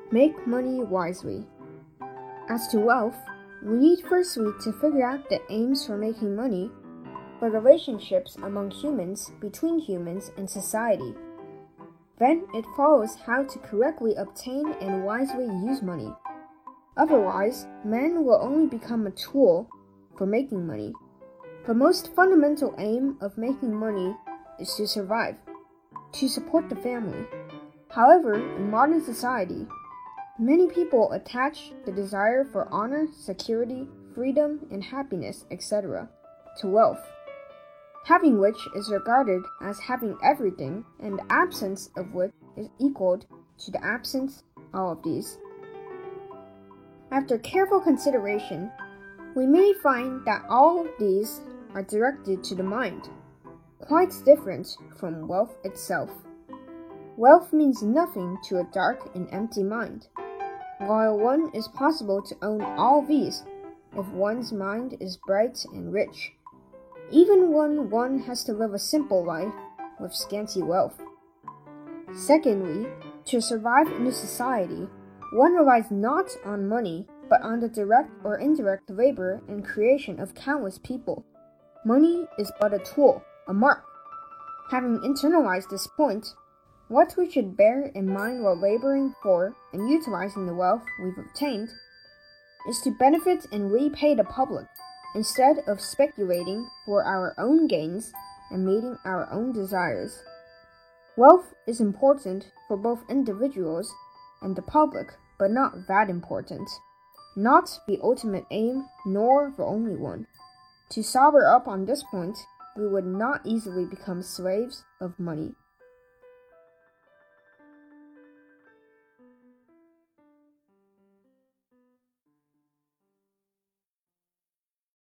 Make money wisely. As to wealth, we need firstly to figure out the aims for making money, the relationships among humans, between humans, and society. Then it follows how to correctly obtain and wisely use money. Otherwise, man will only become a tool for making money. The most fundamental aim of making money is to survive, to support the family. However, in modern society, many people attach the desire for honor, security, freedom, and happiness, etc., to wealth, having which is regarded as having everything, and the absence of which is equal to the absence of all of these. After careful consideration, we may find that all of these are directed to the mind, quite different from wealth itself. Wealth means nothing to a dark and empty mind, while one is possible to own all these if one's mind is bright and rich, even when one has to live a simple life with scanty wealth. Secondly, to survive in a society, one relies not on money, but on the direct or indirect labor and creation of countless people. Money is but a tool, a mark. Having internalized this point, what we should bear in mind while laboring for and utilizing the wealth we've obtained is to benefit and repay the public, instead of speculating for our own gains and meeting our own desires. Wealth is important for both individuals and the public, but not that important. Not the ultimate aim, nor the only one. To sober up on this point, we would not easily become slaves of money.